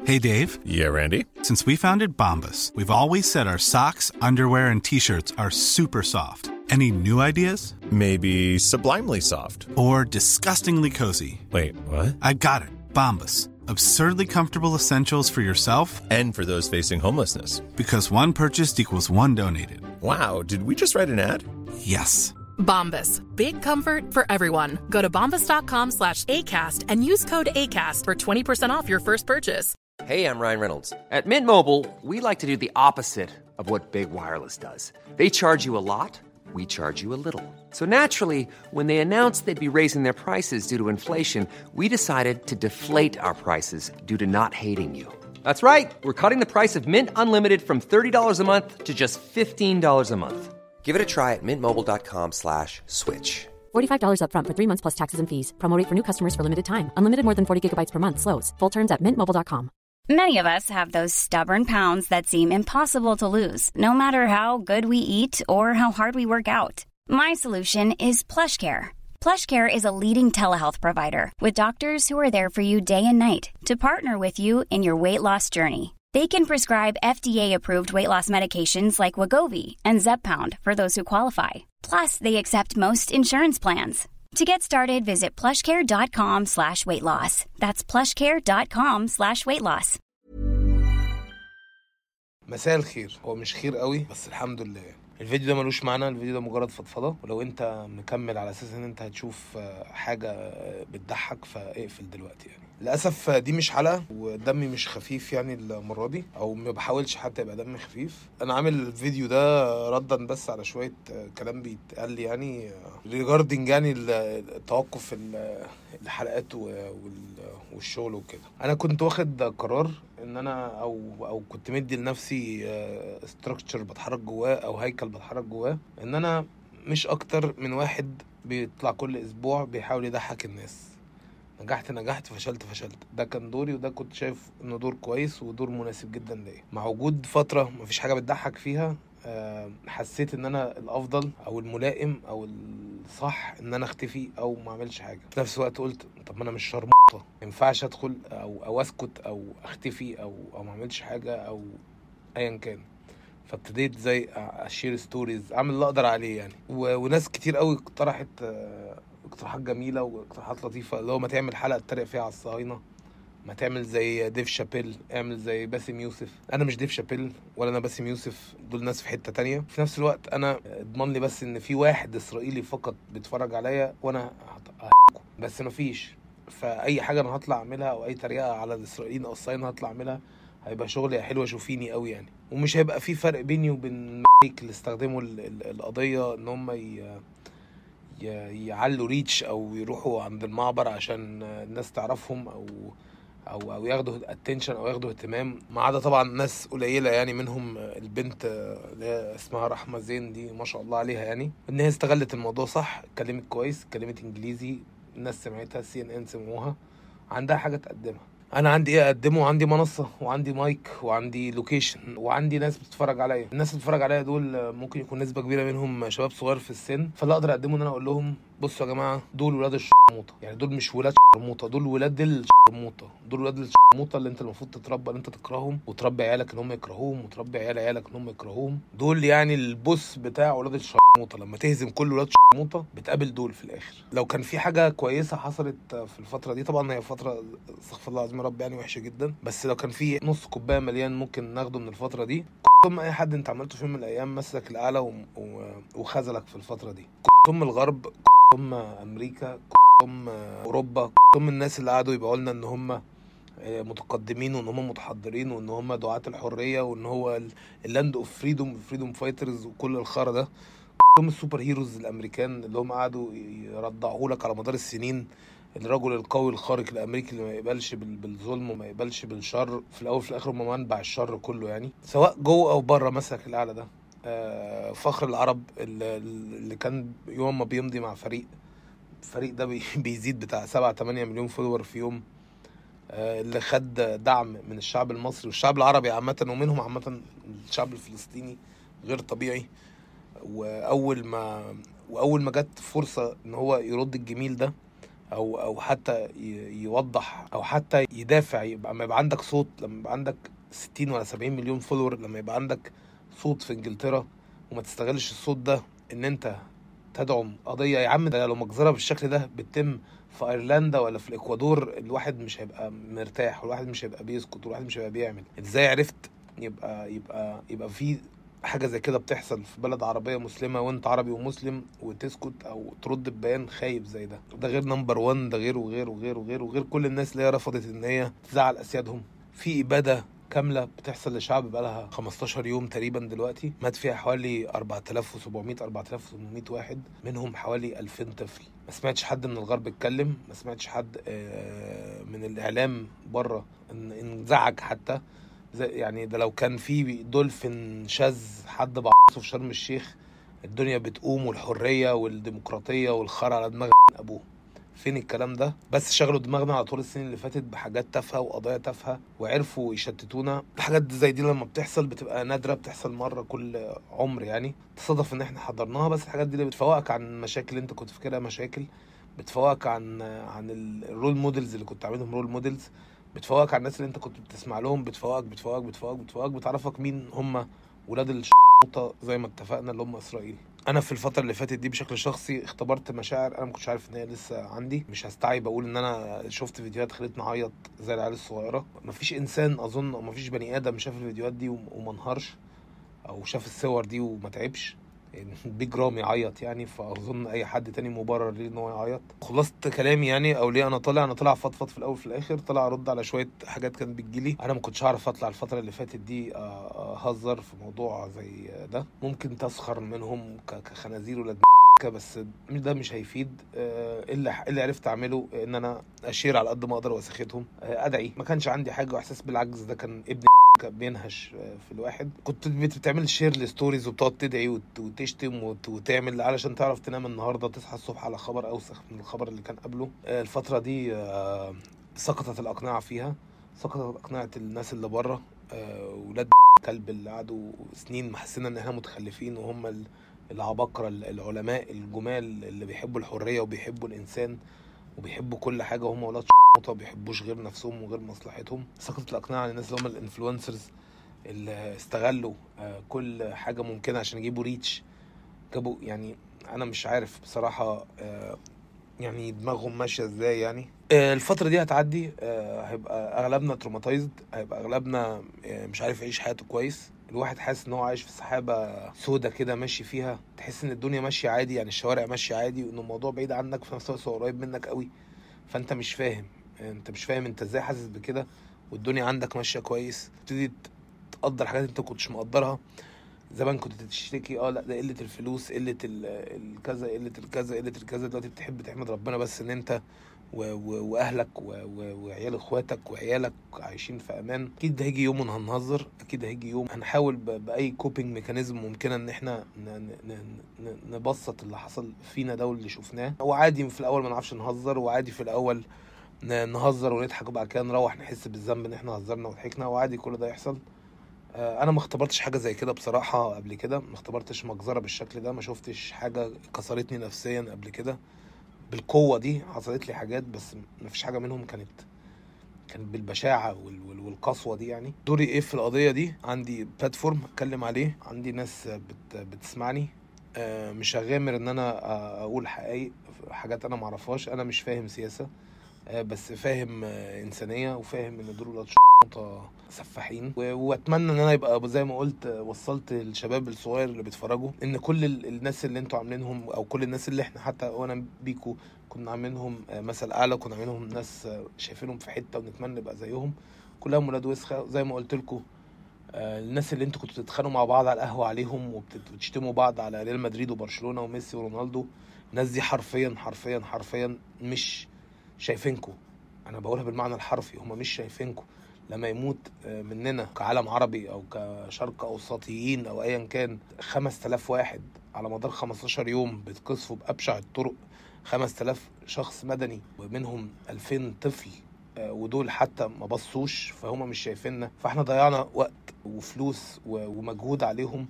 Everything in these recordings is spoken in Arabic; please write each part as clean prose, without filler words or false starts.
Hey, Dave. Yeah, Randy. Since we founded Bombas, we've always said our socks, underwear, and T-shirts are super soft. Any new ideas? Maybe sublimely soft. Or disgustingly cozy. Wait, what? I got it. Bombas. Absurdly comfortable essentials for yourself and for those facing homelessness. Because one purchased equals one donated. Wow, did we just write an ad? Yes. Bombas. Big comfort for everyone. Go to bombas.com/ACAST and use code ACAST for 20% off your first purchase. Hey, I'm Ryan Reynolds. At Mint Mobile, we like to do the opposite of what Big Wireless does. They charge you a lot, we charge you a little. So naturally, when they announced they'd be raising their prices due to inflation, we decided to deflate our prices due to not hating you. That's right. We're cutting the price of Mint Unlimited from $30 a month to just $15 a month. Give it a try at mintmobile.com/switch. $45 up front for 3 months plus taxes and fees. Promo rate for new customers for limited time. Unlimited more than 40 gigabytes per month. Slows full terms at mintmobile.com. Many of us have those stubborn pounds that seem impossible to lose, no matter how good we eat or how hard we work out. My solution is PlushCare. PlushCare is a leading telehealth provider with doctors who are there for you day and night to partner with you in your weight loss journey. They can prescribe FDA-approved weight loss medications like Wegovy and Zepbound for those who qualify. Plus, they accept most insurance plans. To get started, visit plushcare.com/weightloss. That's plushcare.com/weightloss. مساء الخير. هو مش خير قوي بس الحمد لله. الفيديو ده ملوش معنى، الفيديو ده مجرد فضفضة، ولو انت مكمل على اساس ان انت هتشوف حاجة بتضحك فاقفل دلوقتي. يعني للأسف دي مش حلقة ودمي مش خفيف يعني المرة دي، او ما بحاولش حتى يبقى دمي خفيف. انا عامل الفيديو ده ردا بس على شوية كلام بيتقال لي يعني ريجاردنج يعني التوقف الحلقات والشغل وكده. انا كنت واخد قرار ان انا او كنت مدي لنفسي ستراكشر بتحرك جواه او هيكل بتحرك جواه، ان انا مش اكتر من واحد بيطلع كل اسبوع بيحاول يضحك الناس. نجحت فشلت. ده كان دوري، وده كنت شايف انه دور كويس ودور مناسب جدا ليا. مع وجود فترة مفيش حاجة بتضحك فيها، حسيت ان انا الافضل او الملائم او الصح ان انا اختفي او ما اعملش حاجه. في نفس الوقت قلت طب ما انا مش شرموطه، ما ينفعش ادخل او اسكت او اختفي او ما اعملش حاجه او ايا كان. فابتديت زي اشير ستوريز، اعمل اللي اقدر عليه يعني. وناس كتير قوي اقترحت اقتراحات جميله واقتراحات لطيفه، اللي هو ما تعمل حلقه اتريق فيها على الصهاينه، ما تعمل زي ديف شابيل، اعمل زي باسم يوسف. انا مش ديف شابيل ولا انا باسم يوسف، دول ناس في حتة تانية. في نفس الوقت انا اضمن لي بس ان في واحد اسرائيلي فقط بيتفرج عليا وانا هحكم، بس مفيش. فاي حاجة انا هطلع اعملها او اي طريقة على الاسرائيليين او الصهاينة هطلع اعملها هيبقى شغل حلو شوفيني قوي يعني. ومش هيبقى في فرق بيني وبين اللي استخدموا القضية ان هم يعلوا ريتش او يروحوا عند المعبر عشان الناس تعرفهم او ياخدوا اتنشن او ياخدوا اهتمام. ما عدا طبعا ناس قليله يعني، منهم البنت اللي اسمها رحمه زين دي ما شاء الله عليها يعني، ان هي استغلت الموضوع صح، اتكلمت كويس، اتكلمت انجليزي، الناس سمعتها، CNN سمعوها، عندها حاجه تقدمها. انا عندي ايه اقدمه؟ عندي منصه وعندي مايك وعندي لوكيشن وعندي ناس بتتفرج عليا. الناس اللي بتتفرج عليا دول ممكن يكون نسبه كبيره منهم شباب صغير في السن، فاللي اقدر اقدمه ان انا اقول لهم بصوا يا جماعه، دول ولاد الشرموطه، يعني دول مش ولاد شرموطه، دول ولاد الشرموطه، دول ولاد الشرموطه اللي انت المفروض تتربى ان انت تكرههم وتربي عيالك ان هم يكرهوهم وتربي عيالك ان هم يكرهوهم. دول يعني البوس بتاع ولاد الشرموطه، لما تهزم كل ولاد الشرموطه بتقابل دول في الاخر. لو كان في حاجه كويسه حصلت في الفتره دي، طبعا هي فتره استغفر الله العظيم رب يعني وحشه جدا، بس لو كان في نص كوبايه مليان ممكن ناخده من الفتره دي، ثم اي حد انت عملته في يوم من الايام مسك الاعلى وخذلك في الفتره دي، ثم الغرب، ثم امريكا، ثم اوروبا، ثم الناس اللي قعدوا يبقوا لنا ان هم متقدمين وان هم متحضرين وان هم دعاة الحريه وان هو اللاند اوف فريدوم فايترز وكل الخرا ده، ثم السوبر هيروز الامريكان اللي هم قعدوا يرضعوا لك على مدار السنين الرجل القوي الخارق الامريكي اللي ما يقبلش بالظلم وما يقبلش بالشر، في الاول في الاخر هم منبع الشر كله يعني، سواء جوه او بره. مسك الاعلى ده فخر العرب اللي كان يوم ما بيمضي مع فريق ده بيزيد بتاع 7-8 مليون فولور في يوم، اللي خد دعم من الشعب المصري والشعب العربي عامة، ومنهم عامة الشعب الفلسطيني غير طبيعي. واول ما جت فرصة ان هو يرد الجميل ده او حتى يوضح او حتى يدافع، لما يبقى عندك صوت، لما يبقى عندك 60 ولا 70 مليون فولور، لما يبقى عندك صوت في انجلترا وما تستغلش الصوت ده ان انت تدعم قضية. يا عم ده لو مجزرة بالشكل ده بتتم في ايرلندا ولا في الاكوادور، الواحد مش هيبقى مرتاح، والواحد مش هيبقى بيسكت، والواحد مش هيبقى بيعمل. ازاي عرفت يبقى في حاجة زي كده بتحصل في بلد عربية مسلمة وانت عربي ومسلم وتسكت او ترد ببيان خايب زي ده؟ ده غير نمبر 1، ده غير وغير كل الناس اللي هي رفضت ان هي تزعل اسيادهم. في ابادة كاملة بتحصل لشعب بقالها 15 يوم تقريبا دلوقتي، مات فيها حوالي 4700 واحد، منهم حوالي 2000 طفل. ما سمعتش حد من الغرب اتكلم، ما سمعتش حد من الاعلام بره انزعج حتى. يعني ده لو كان في دولفين شاذ حد بعصه في شرم الشيخ الدنيا بتقوم، والحرية والديمقراطية والخرع على دماغ ابوه. فين الكلام ده؟ بس شغلوا دماغنا على طول السنين اللي فاتت بحاجات تافهه وقضايا تافهه وعرفوا يشتتونا. الحاجات زي دي لما بتحصل بتبقى نادره، بتحصل مره كل عمر يعني، تصادف ان احنا حضرناها. بس الحاجات دي اللي بتفوقك عن مشاكل انت كنت فاكرها مشاكل، بتفوقك عن الرول موديلز اللي كنت عاملهم رول موديلز، بتفوقك عن الناس اللي انت كنت بتسمع لهم، بتفوقك بتعرفك مين هم ولاد زي ما اتفقنا اللي هم اسرائيل. انا في الفتره اللي فاتت دي بشكل شخصي اختبرت مشاعر انا ما كنتش عارف ان هي لسه عندي. مش هستعيب اقول ان انا شفت فيديوهات خلتني اعيط زي العيال الصغيره. مفيش انسان اظن او مفيش بني ادم شاف الفيديوهات دي وما انهارش، او شاف الصور دي وما تعبش. بيج رام يعيط يعني، فاظن اي حد تاني مبرر ليه ان هو يعيط. خلصت كلامي يعني، او ليه انا طالع فضفض في الاول في الاخر، طالع ارد على شويه حاجات كانت بتجيلي. انا ما كنتش اعرف اطلع الفتره اللي فاتت دي اهزر في موضوع زي ده. ممكن تسخر منهم كخنازير ولا بس ده مش هيفيد. اللي عرفت اعمله ان انا اشير على قد ما اقدر واسختهم، ادعي. ما كانش عندي حاجه، واحساس بالعجز ده كان ابن بينهش في الواحد. كنت بتعمل شير لستوريز وبتقعد تدعي وتشتم وتعمل علشان تعرف تنام النهارده، تصحى الصبح على خبر اوسخ من الخبر اللي كان قبله. الفتره دي سقطت الاقنعه فيها، سقطت اقنعه الناس اللي بره، ولاد كلب اللي قعدوا سنين محسنا ان احنا متخلفين، وهم العباقرة العلماء الجمال اللي بيحبوا الحرية وبيحبوا الإنسان وبيحبوا كل حاجة، وهم ولاد ما بيحبوش غير نفسهم وغير مصلحتهم. سقطت الأقناع عن الناس اللي هم الانفلونسرز اللي استغلوا كل حاجة ممكنة عشان يجيبوا ريتش، جابوا يعني. أنا مش عارف بصراحة يعني دماغهم ماشية ازاي يعني. الفترة دي هتعدي، هيبقى أغلبنا تروماتايزد، هيبقى أغلبنا مش عارف يعيش حياته كويس. الواحد حاسس ان هو عايش في سحابة سودة كده ماشي فيها، تحس ان الدنيا ماشية عادي يعني، الشوارع ماشية عادي، وان الموضوع بعيد عنك في نفس الوقت قريب منك قوي. فانت مش فاهم انت ازاي حاسس بكده والدنيا عندك ماشية كويس. تبتدي تقدر حاجات انت كنتش مقدرها. زمان كنت تشتكي لا ده قلة الفلوس، قلة الكذا، قلة الكذا. دلوقتي بتحب تحمد ربنا بس ان انت واهلك وعيال اخواتك وعيالك عايشين في امان. اكيد هيجي يوم هنهزر، اكيد هيجي يوم هنحاول باي كوبينج ميكانيزم ممكنه ان احنا نبسط اللي حصل فينا ده واللي شفناه. وعادي في الاول ما نعرفش نهزر، وعادي في الاول نهزر ونضحك، وبعد كده نروح نحس بالذنب ان احنا هزرنا وضحكنا، وعادي كل ده يحصل. انا ما اختبرتش حاجه زي كده بصراحه قبل كده، ما اختبرتش مجزره بالشكل ده، ما شفتش حاجه كسرتني نفسيا قبل كده بالقوه دي. حصلت لي حاجات بس ما فيش حاجه منهم كانت بالبشاعه والقسوه دي يعني. دوري ايه في القضيه دي؟ عندي بلاتفورم اتكلم عليه، عندي ناس بتسمعني. مش هغامر ان انا اقول حاجات انا ما اعرفهاش. انا مش فاهم سياسه، بس فاهم انسانيه، وفاهم ان دول سفاحين. واتمنى ان انا يبقى زي ما قلت وصلت الشباب الصغير اللي بيتفرجوا ان كل الناس اللي انتوا عاملينهم، او كل الناس اللي احنا حتى وانا بيكو كنا عاملينهم مثل اعلى، كنا عاملينهم ناس شايفينهم في حته ونتمنى نبقى زيهم، كلهم ولاد وسخه. زي ما قلت لكم الناس اللي انتوا كنتوا بتتخانقوا مع بعض على القهوه عليهم وبتشتموا بعض على ريال مدريد وبرشلونه وميسي ورونالدو، الناس دي حرفيا مش شايفينكم. انا بقولها بالمعنى الحرفي، هم مش شايفينكم. لما يموت مننا كعالم عربي او كشرق اوسطيين او ايا كان 5000 واحد على مدار 15 يوم بتقصفوا بابشع الطرق، 5000 شخص مدني ومنهم 2000 طفل، ودول حتى ما بصوش، فهم مش شايفيننا. فاحنا ضيعنا وقت وفلوس ومجهود عليهم،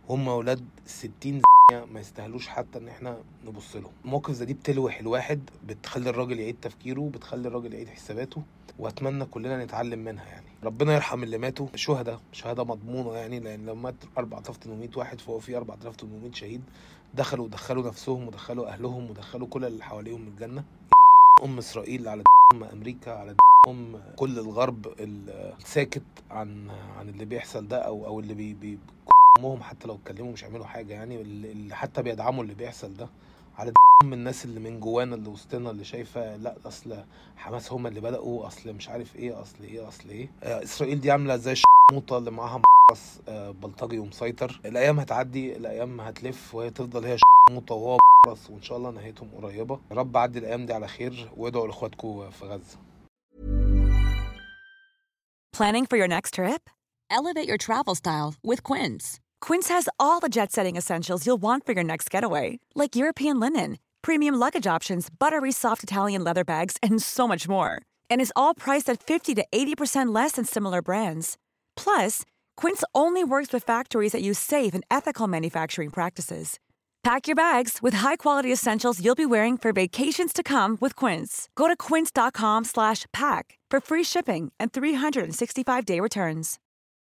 هم ولاد 60 ما يستاهلوش حتى ان احنا نبص لهم. المواقف زي دي بتلوح الواحد، بتخلي الراجل يعيد تفكيره، بتخلي الراجل يعيد حساباته، واتمنى كلنا نتعلم منها يعني. ربنا يرحم اللي ماتوا شهداء، شهاده مضمونه يعني، لان لما مات 4800 واحد فهو في 4800 شهيد دخلوا نفسهم ودخلوا اهلهم ودخلوا كل اللي حواليهم الجنه. اسرائيل على امريكا على كل الغرب الساكت عن اللي بيحصل ده، او اللي امهم حتى لو اتكلموا مش هيعملوا حاجه يعني، اللي حتى بيدعموا اللي بيحصل ده على من الناس اللي من جوانا اللي وسطنا اللي شايفه لا اصل حماس هم اللي بدأوا، اصل مش عارف ايه، اصل ايه. اسرائيل دي عامله زي الشموطه اللي معاها بلطجي ومسيطر. الايام هتعدي، الايام هتلف، وهي تفضل هي الشموطه وهو وان شاء الله نهايتهم قريبه. يا رب عدي الايام دي على خير، وادعوا لاخواتكم في غزه. Planning for your next trip? Elevate your travel style with Quince. Quince has all the jet-setting essentials you'll want for your next getaway, like European linen, premium luggage options, buttery soft Italian leather bags, and so much more. And is all priced at 50 to 80% less than similar brands. Plus, Quince only works with factories that use safe and ethical manufacturing practices. Pack your bags with high-quality essentials you'll be wearing for vacations to come with Quince. Go to quince.com/pack for free shipping and 365-day returns.